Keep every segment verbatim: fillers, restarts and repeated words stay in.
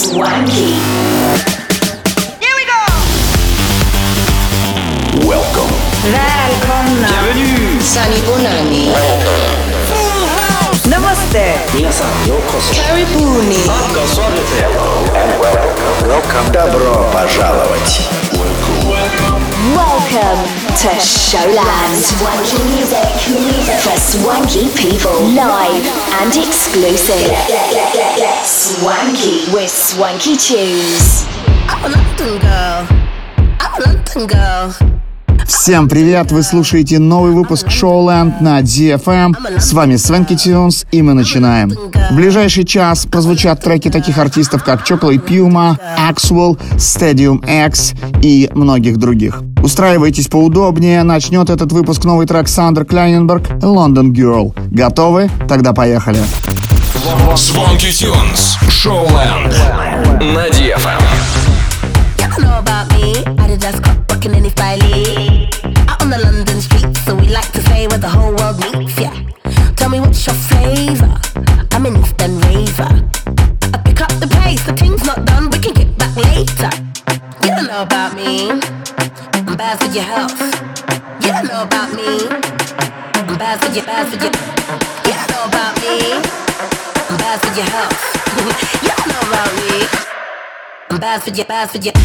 Swanky. Here we go! Welcome. Välkomna! Bienvenue. Sunny Bonani. Namaste! 皆さんようこそ。 Karibuni. Welcome. Добро пожаловать. Welcome to Showland. Swanky music for swanky people. Live and exclusive. Swanky with Swanky Tunes. I'm a London girl. I'm a London girl. Всем привет! Вы слушаете новый выпуск Showland на ди эф эм. С вами Swanky Tunes, и мы начинаем. В ближайший час прозвучат треки таких артистов, как Chocolate Puma, Axwell, Stadium X и многих других. Устраивайтесь поудобнее, начнет этот выпуск новый трек Сандер Клайненберг «London Girl». Готовы? Тогда поехали. Swanky Tunes, Showland на ди эф эм. You know about me, Adidas got rockin' any style. Out on the London streets, so we like to say where the whole world meets, yeah. Tell me what's your flavour, I'm an Eastern raver. I pick up the pace, the thing's not done, we can get back later. You don't know about me, I'm bad for your health. You don't know about me, I'm bad for your, bad for your. You don't know about me, I'm bad for your health. You don't know about me, I'm bad for your, bad for your.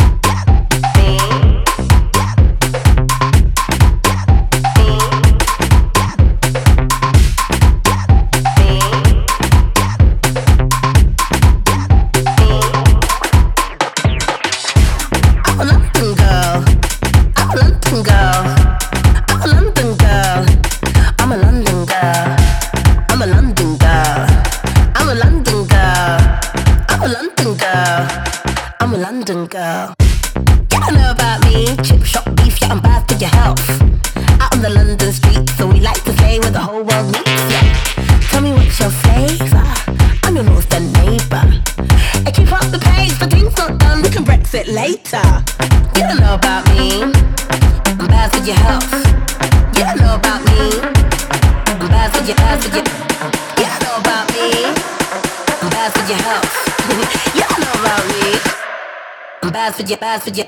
London girl. You don't know about me, chip shop beef, yeah, I'm bad for your health. Out on the London streets, so we like to say where the whole world meets, yeah. Tell me what's your flavour, I'm your northern neighbour. I keep up the pace, the thing's not done, we can Brexit later. You don't know about me, I'm bad for your health. You don't know about me, I'm bad for your, bad for your. You don't know about me, I'm bad for your health. You don't know about me, I'm bad for you, bad for you.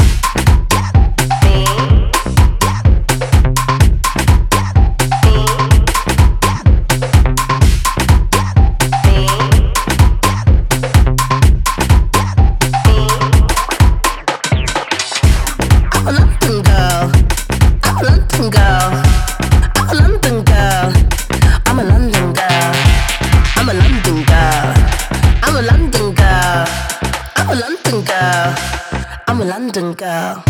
I'm a London girl. I'm a London girl. I'm a London girl. I'm a London girl. I'm a London girl. I'm a London girl. I'm a London girl. I'm a London girl.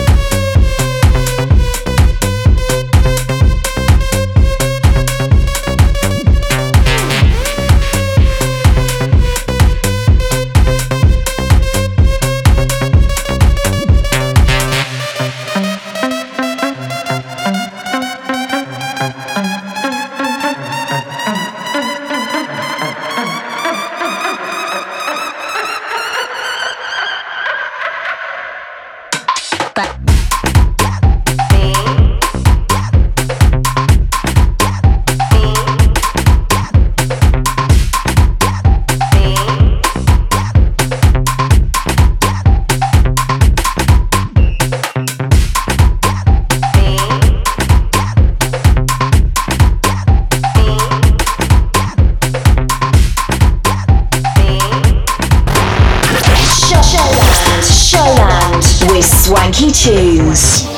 Swanky Tunes.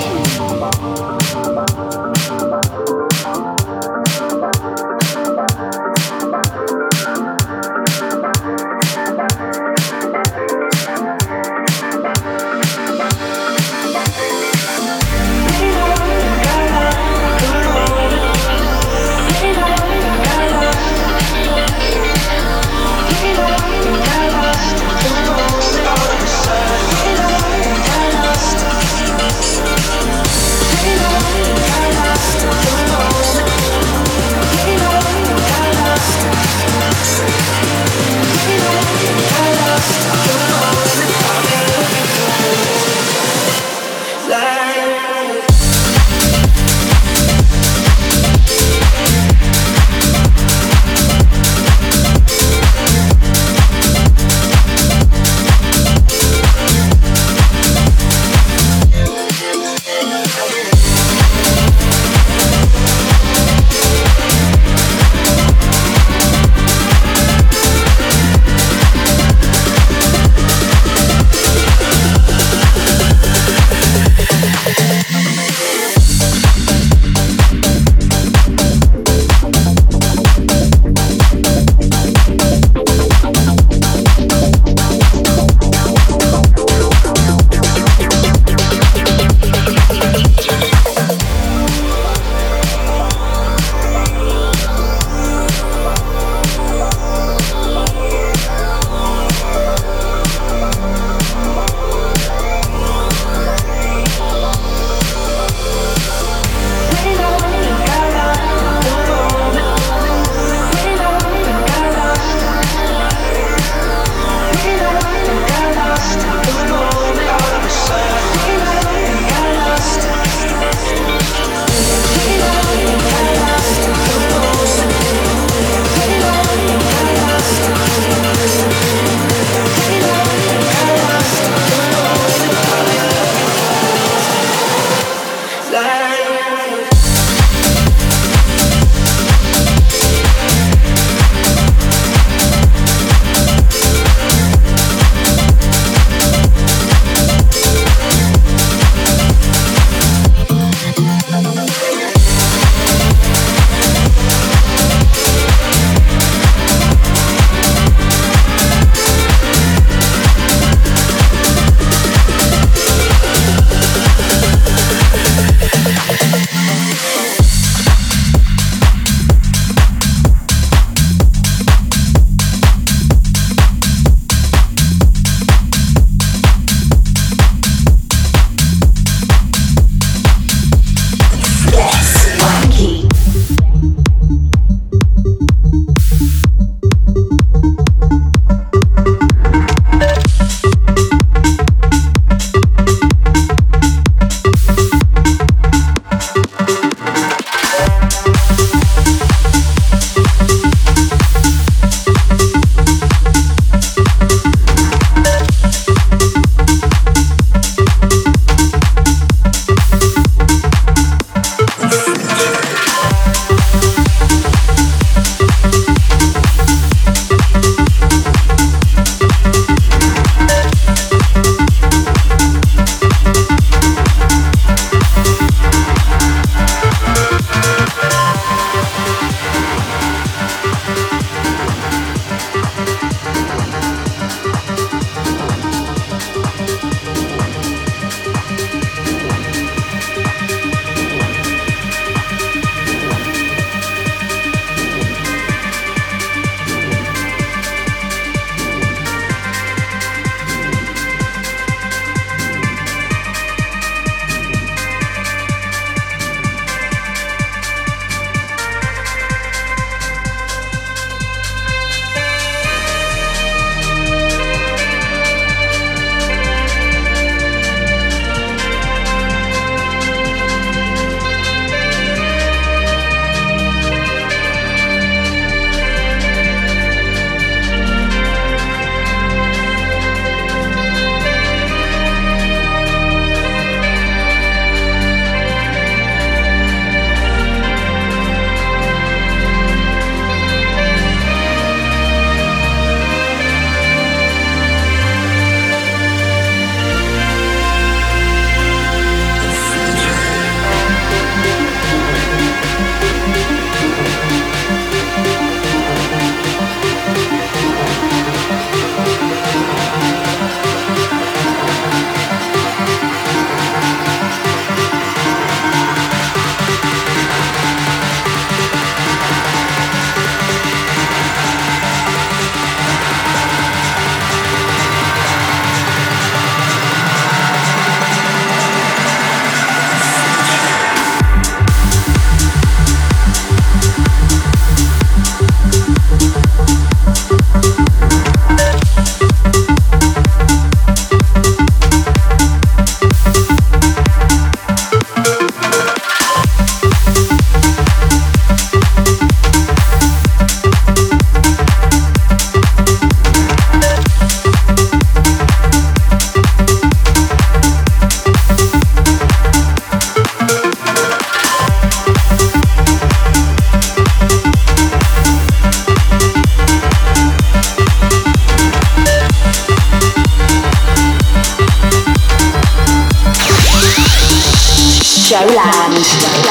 Showland.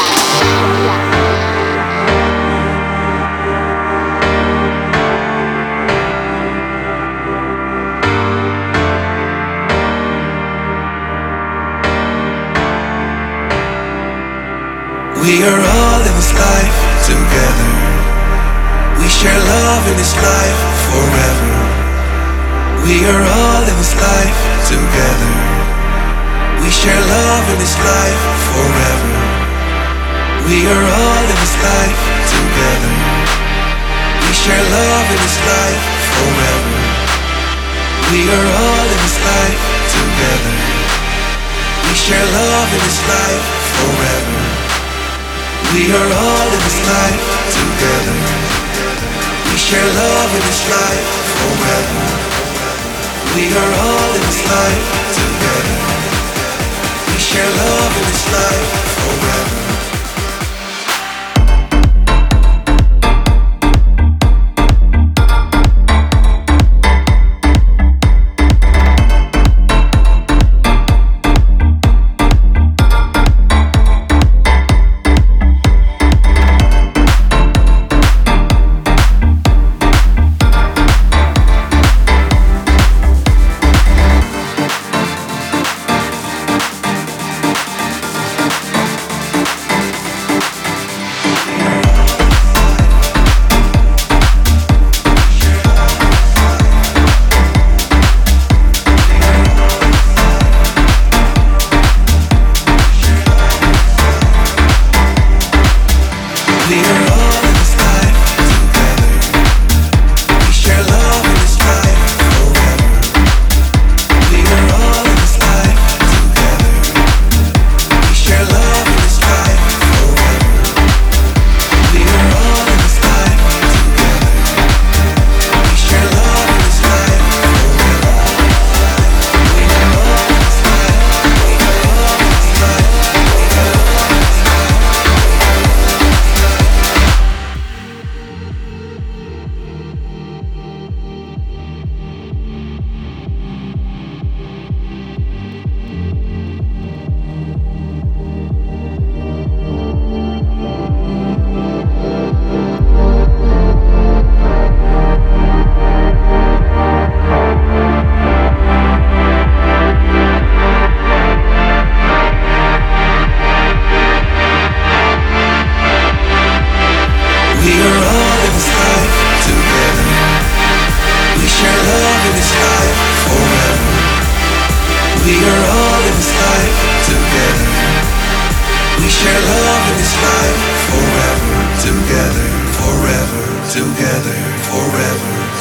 We are all in this life together. We share love in this life forever. We are all in this life together. We share love in this life forever. We are all in this life together. We share love in this life forever. We are all in this life together. We share love in this life forever. We are all in this life together. We share love in this life forever. We are all in this life together. We share love in this life forever.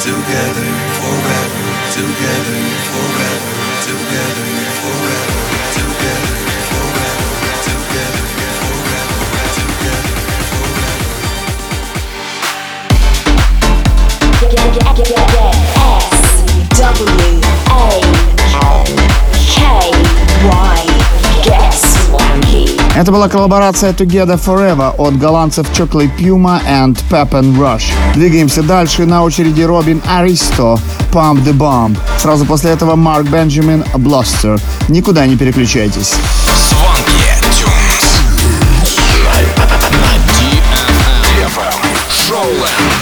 together forever, together forever, together forever, together forever, together forever, together forever. S W A K Y. Get Swanky. Это была коллаборация Together Forever от голландцев Chocolate Puma and Pep and Rush. Двигаемся дальше. На очереди Робин Аристо, Pump the Bomb. Сразу после этого Марк Бенджамин, Bluster. Никуда не переключайтесь. Swanky Tunes на ди эф эм. Showland.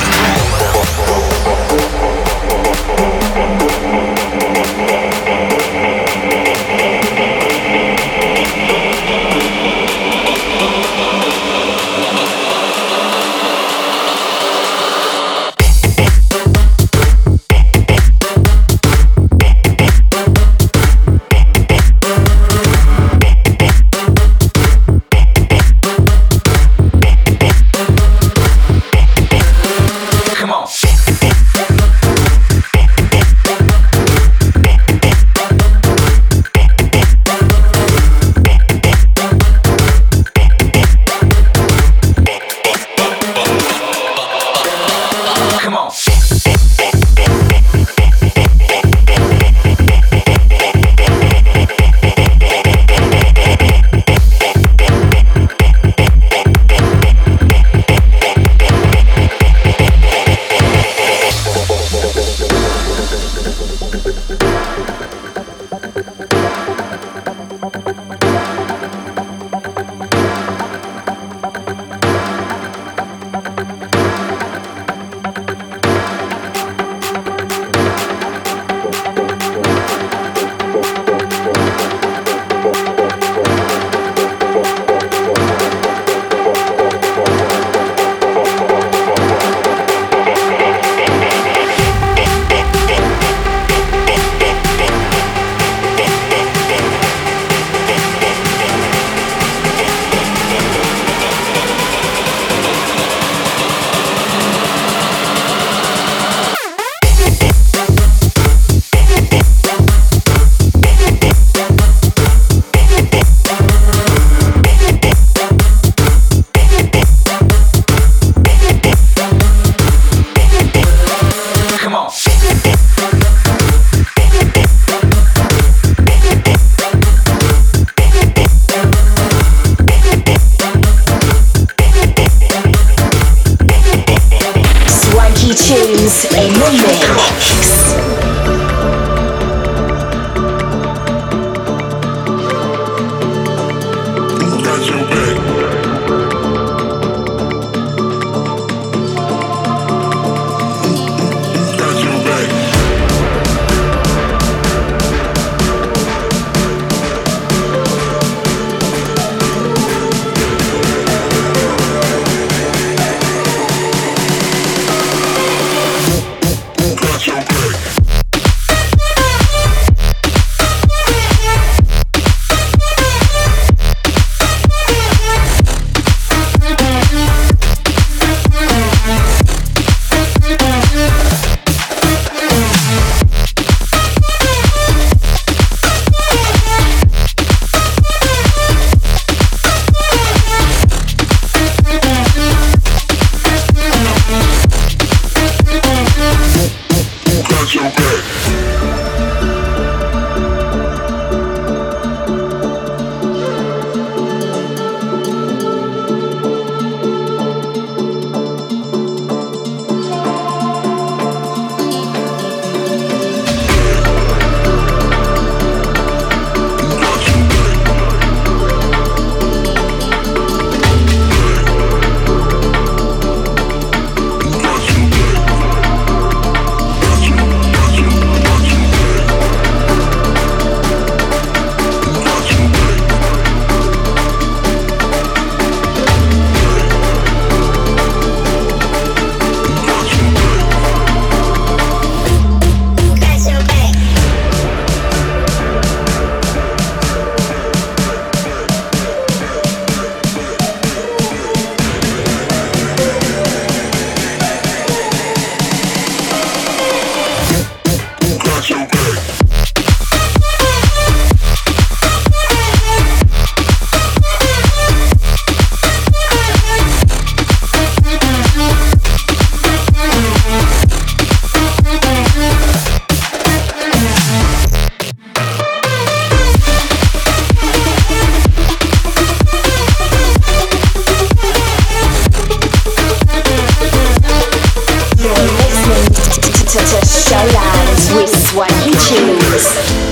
Tunes in the mix. to Showland with Swanky Tunes.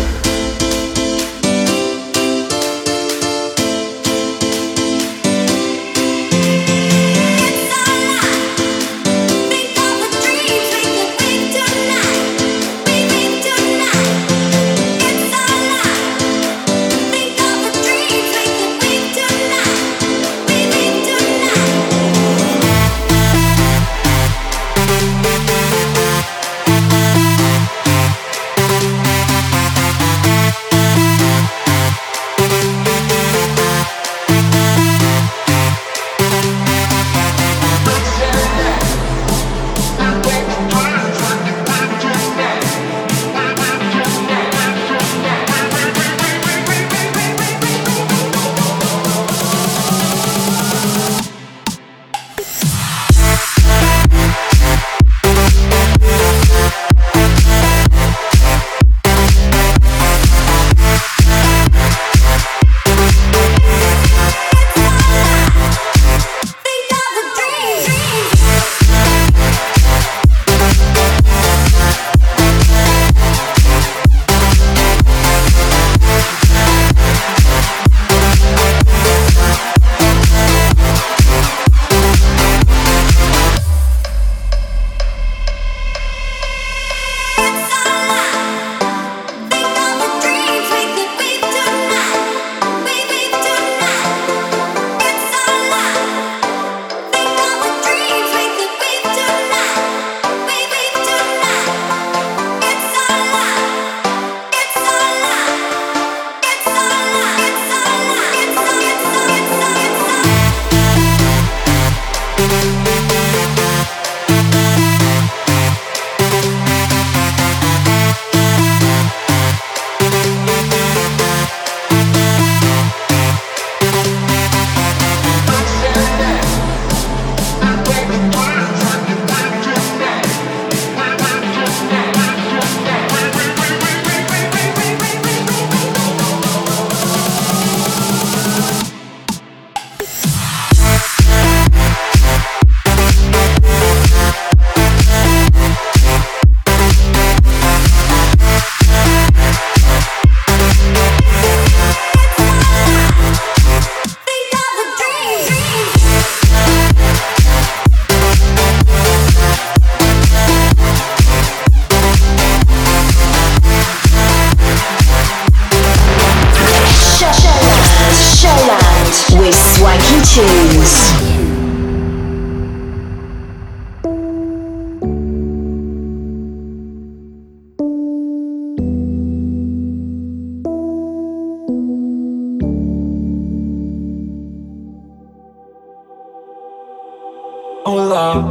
Oh Lord,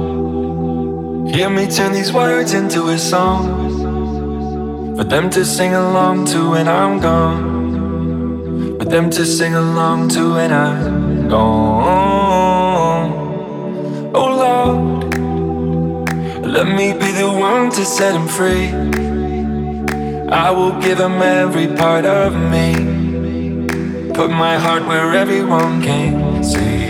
hear me turn these words into a song for them to sing along to when I'm gone, for them to sing along to when I'm gone. Oh Lord, let me be the one to set them free. I will give them every part of me, put my heart where everyone can see.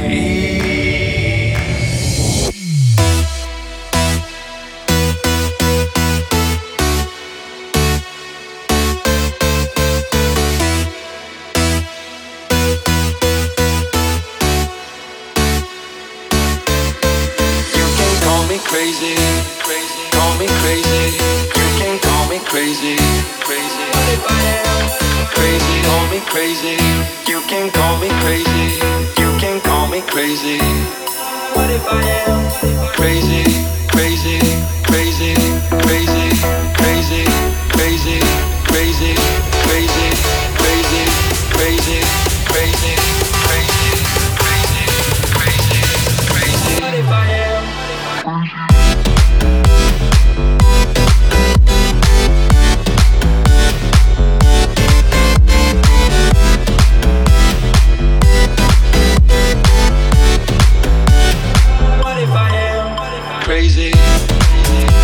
Crazy, crazy, call me crazy. You can call me crazy, crazy. What if I am crazy? Call me crazy. You can call me crazy. You can call me crazy. What if I am crazy, crazy, crazy, crazy, crazy, crazy, crazy, crazy, crazy, crazy, crazy, crazy, crazy, crazy, crazy. What if I am? What if I am crazy?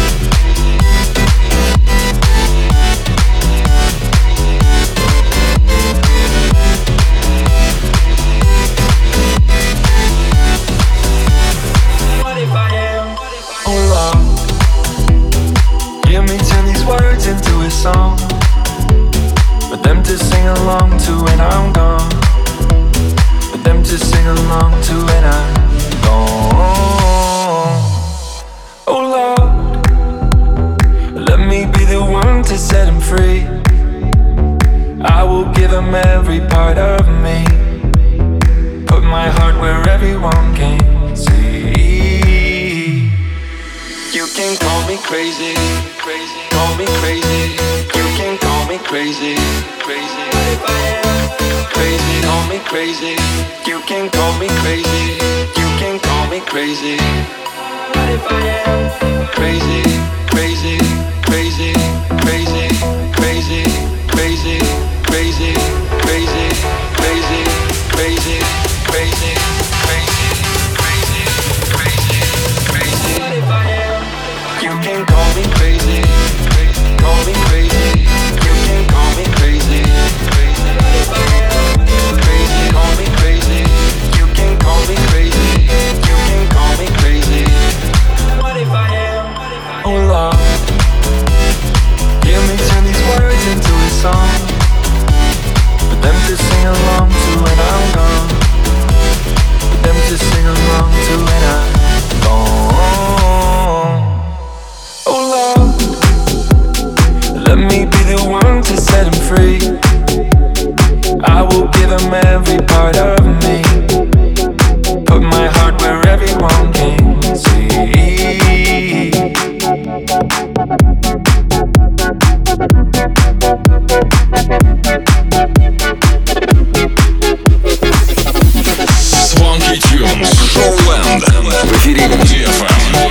song for them to sing along to when I'm gone. For them to sing along to when I'm gone. Oh Lord, let me be the one to set him free. I will give him every part of me. Put my heart where everyone can see. You can call me crazy, crazy, call me crazy. You can call me crazy, crazy. Crazy, call me crazy. You can call me crazy. You can call me crazy. Crazy, crazy, crazy, crazy, crazy, crazy, crazy, crazy, crazy, crazy, crazy, crazy, crazy, crazy, crazy. You can call me crazy, call me crazy. You can call me crazy, crazy, crazy. Call me crazy. You can call me crazy. You can call me crazy. What if I am? Oh Lord, hear me turn these words into a song for them to sing along to when I'm gone. For them to sing along to when I'm gone. Oh Lord, let me be the one to set him free. I will give him every part of me. Put my heart where everyone can see. Swanky Tunes, Showland, в эфире ди эф эм.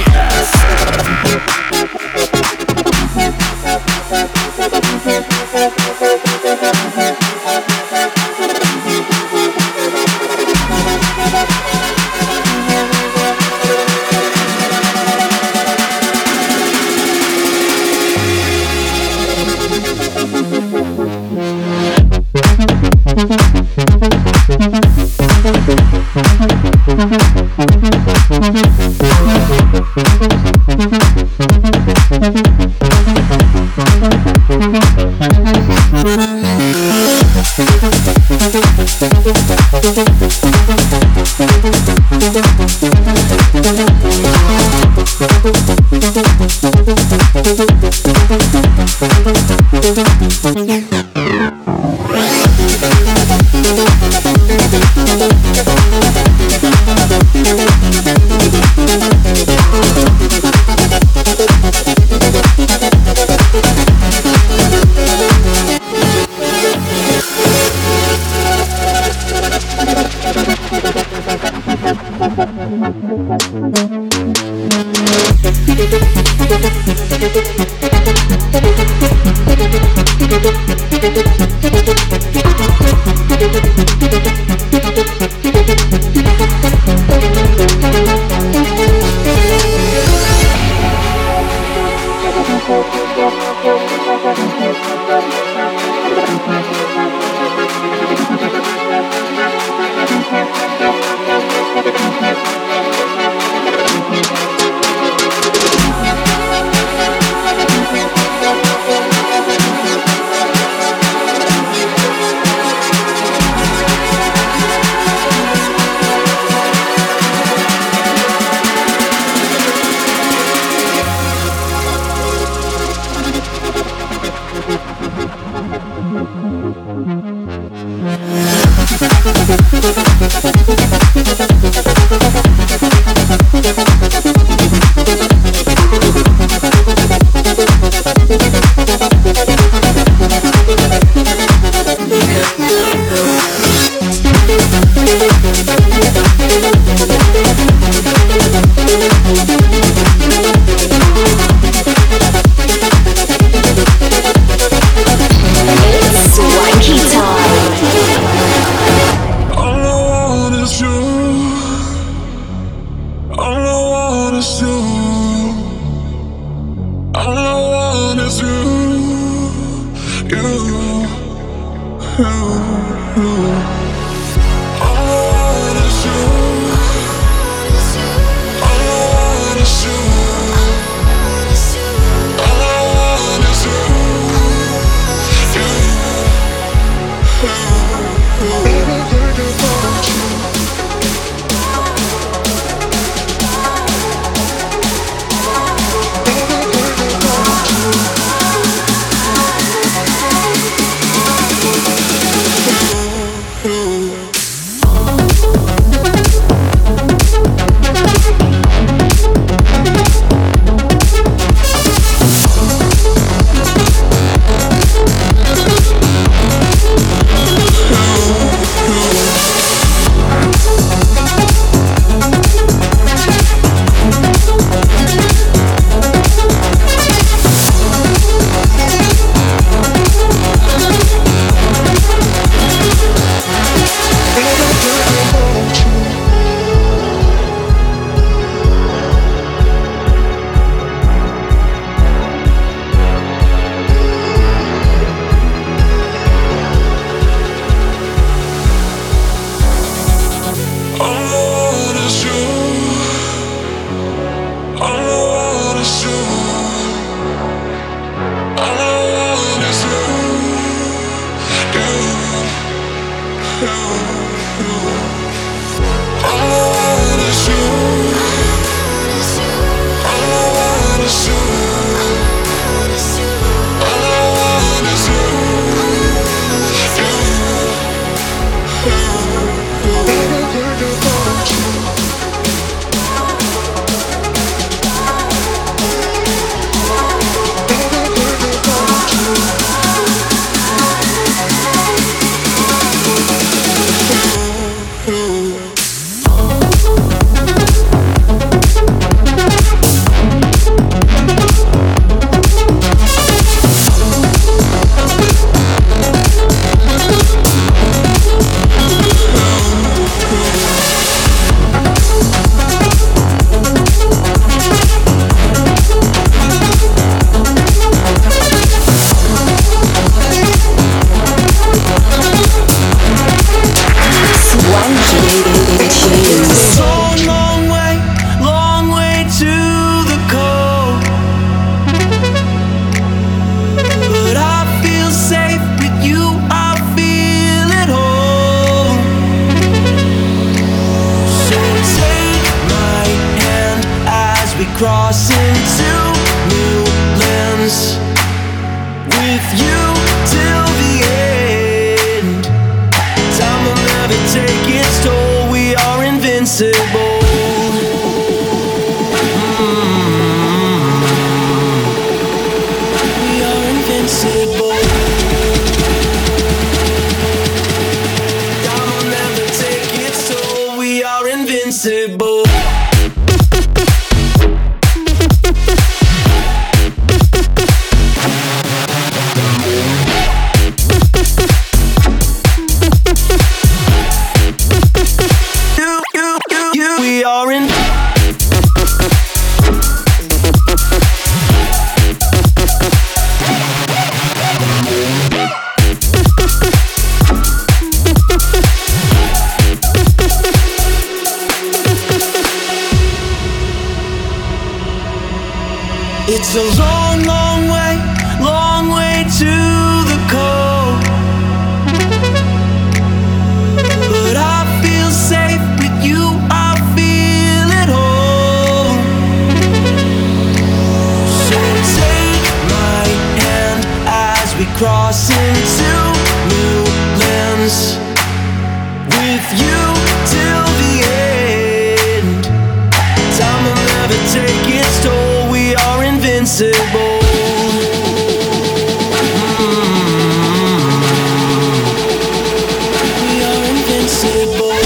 All I want is you. cross into new lands with you till the end. Time will never take its toll. We are invincible. We are invincible.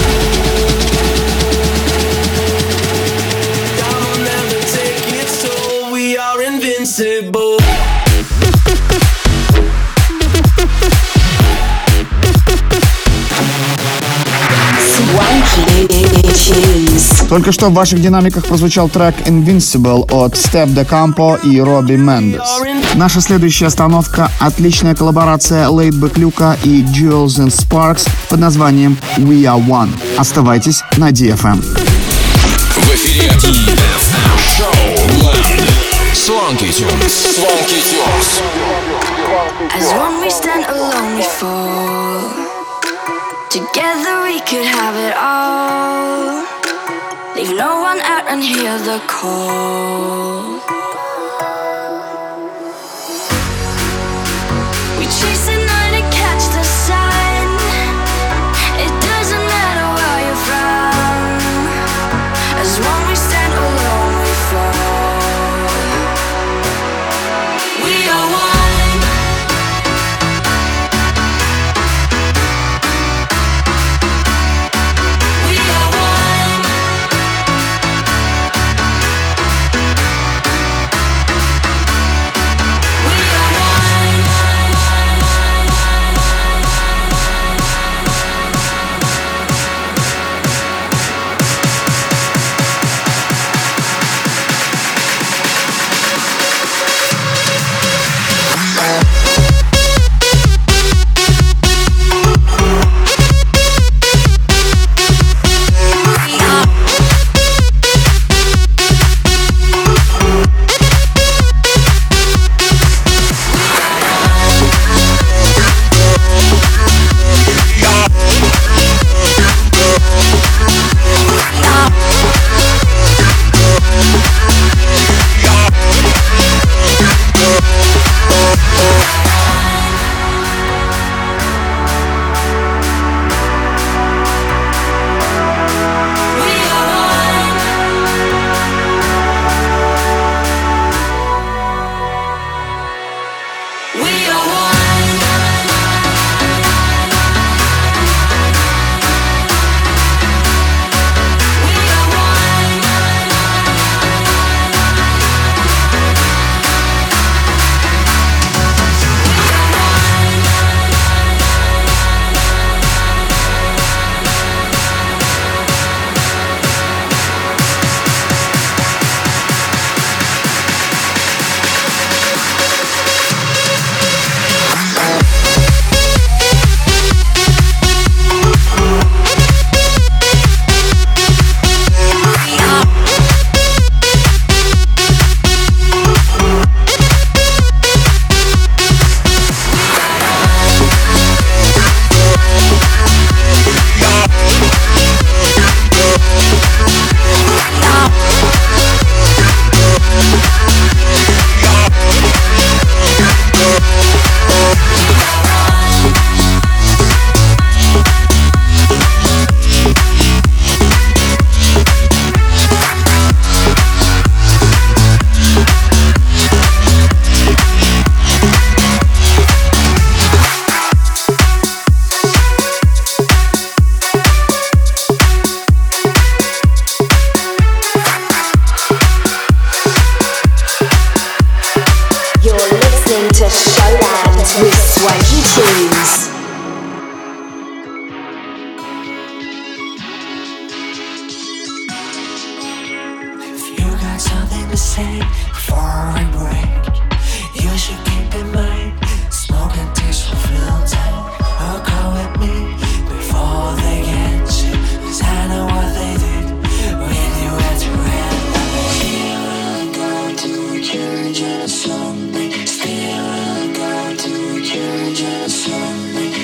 Time will never take its toll. We are invincible. Только что в ваших динамиках прозвучал трек Invincible от Step De Campo и Робби Мендес. Наша следующая остановка — отличная коллаборация Laidback Luke и Jewels and Sparks под названием We Are One. Оставайтесь на ди эф эм. В эфире ди эф эм Show Swanky Tunes. Swanky Tunes. As one we stand alone we fall. Together we could have it all. Leave no one out and hear the call. We chase the night and catch the sun. It doesn't matter where you're from. As one we stand alone we fall. We are one. We are one. We are one. Church on a Sunday, still go to church on a Sunday.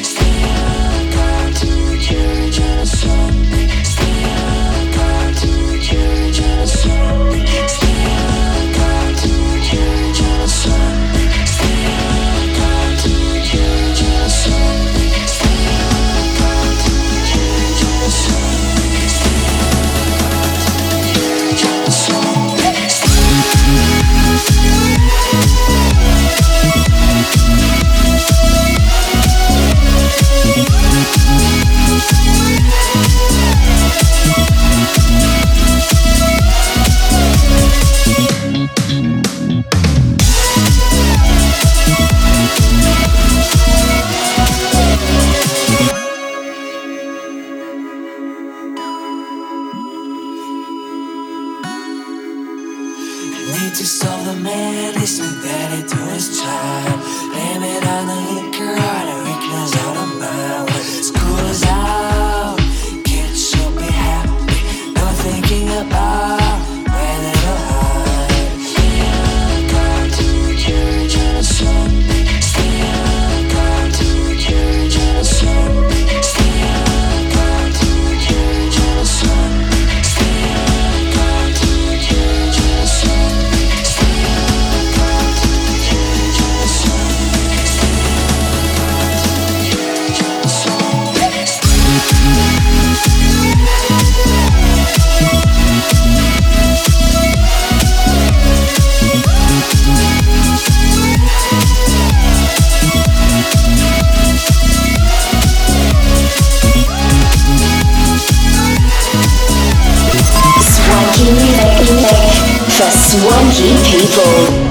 Swanky people.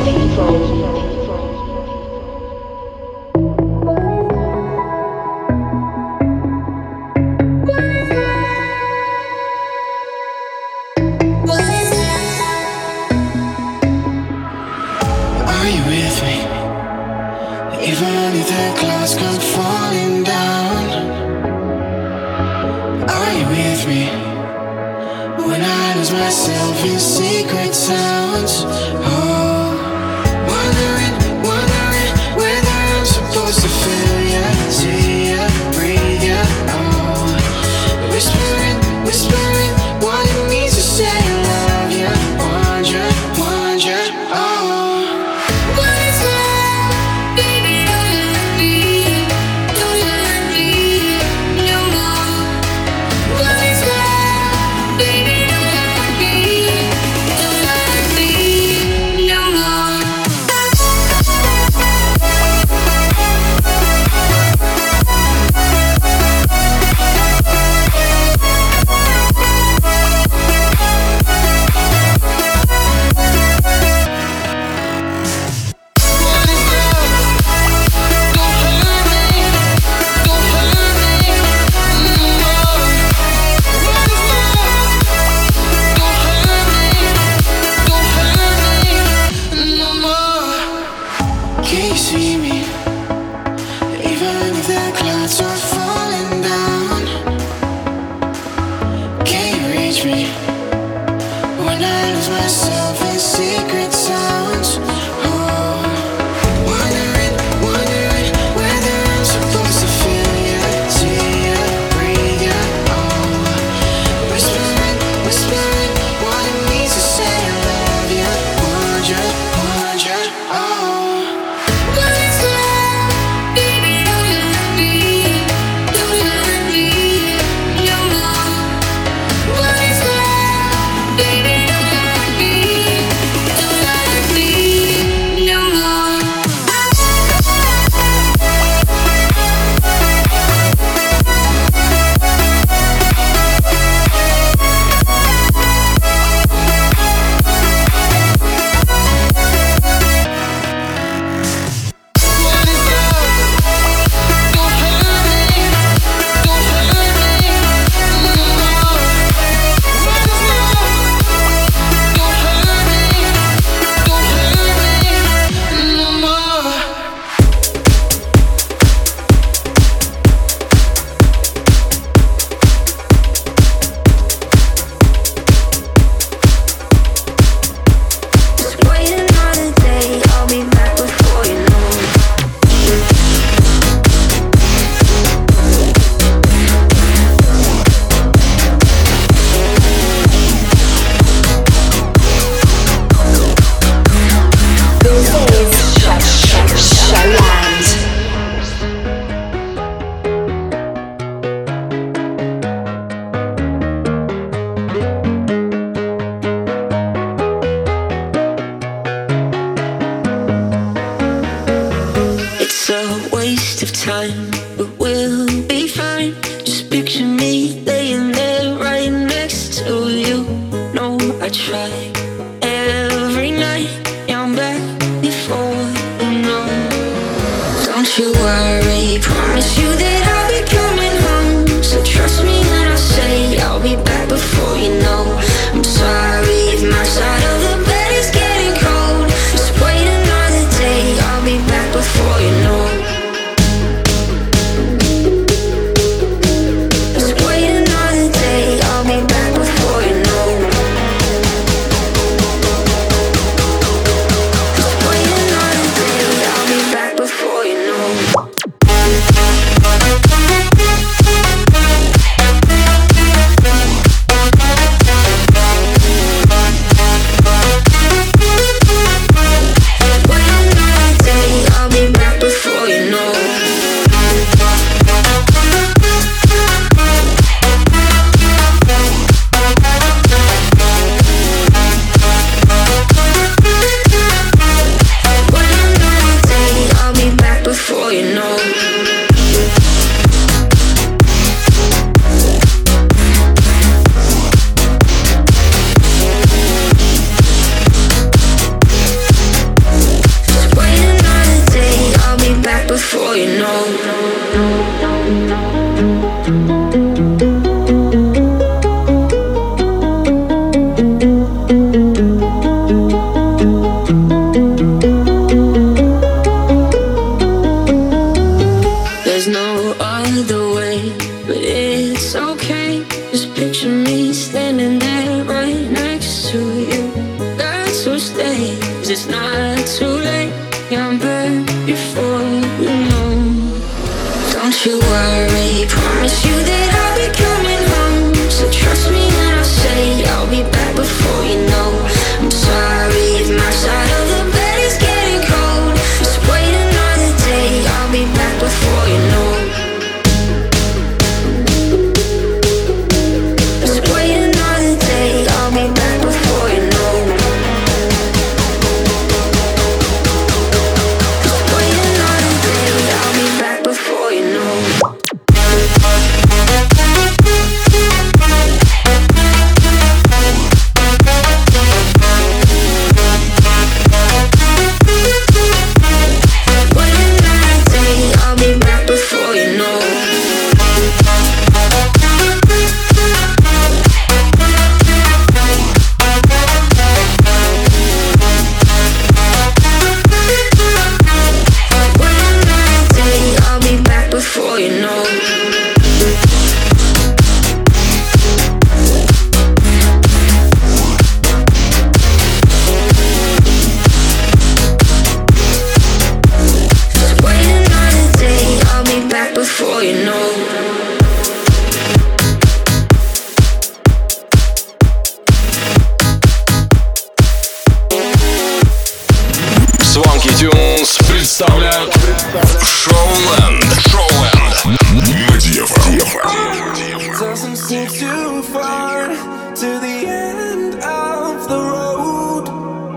представляют Showland. Showland на ди эф эм. Doesn't seem too far to the end of the road.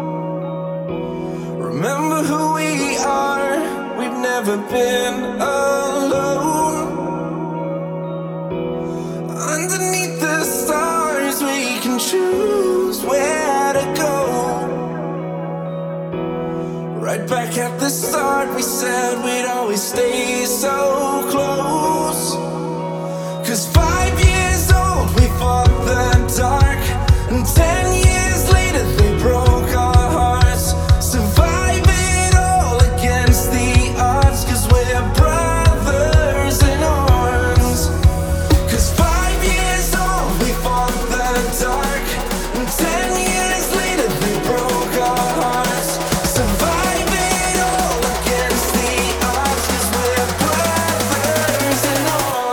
Remember who we are, we've never been alone. Underneath the stars we can choose where to go. Right back at the start we said we'd always stay so close. Cause five years old we fought the dark, and ten years later they broke our hearts. Survive it all against the odds, cause we're brothers in arms. Cause five years old we fought the dark, and ten years later they broke our hearts. Survive it all against the odds, cause we're brothers in arms.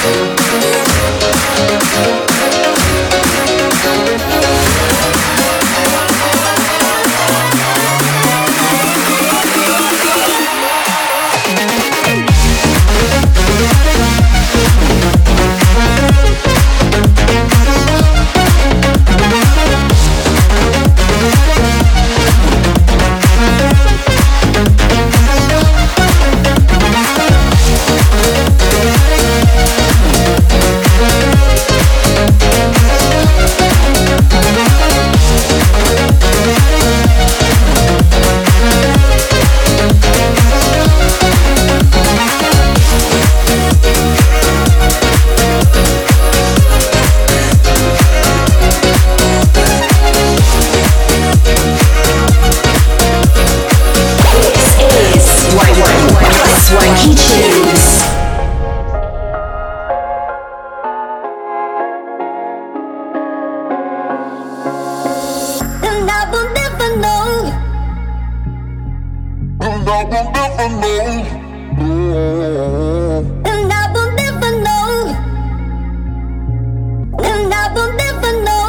Swanky Tunes. And I will never know. And I will never know. And I will never know. And I will never know.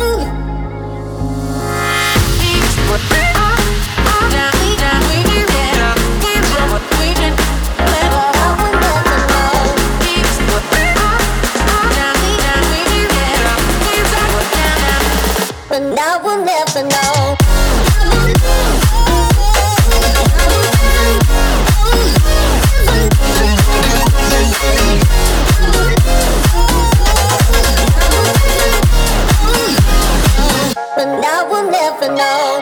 And I will never know. And I will never know.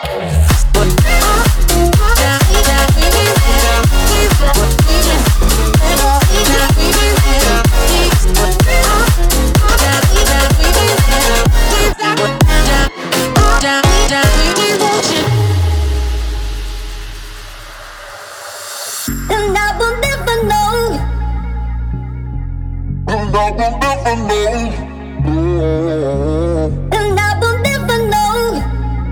And I will never know. And I will never know. And I will never know.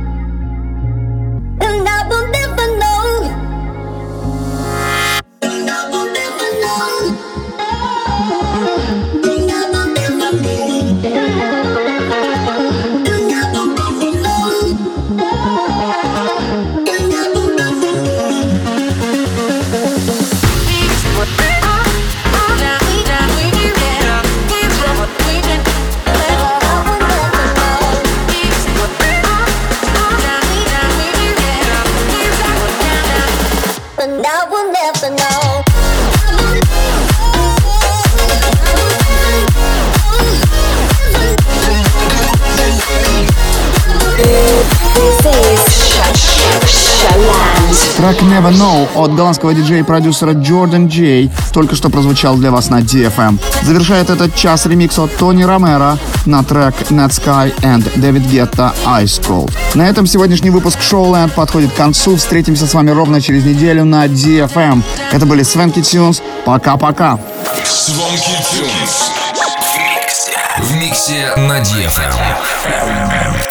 And I will never know. And I will never know. And I will never know. And I will never know. And I will never And I will never know. This is Showland. Трек Never Know от голландского диджея и продюсера Jordan J только что прозвучал для вас на ди эф эм. Завершает этот час ремикс от Тони Ромеро на трек Netsky and David Guetta Ice Cold. На этом сегодняшний выпуск Showland подходит к концу. Встретимся с вами ровно через неделю на ди эф эм. Это были Swanky Tunes. Пока-пока. Swanky Tunes в миксе на ди эф эм.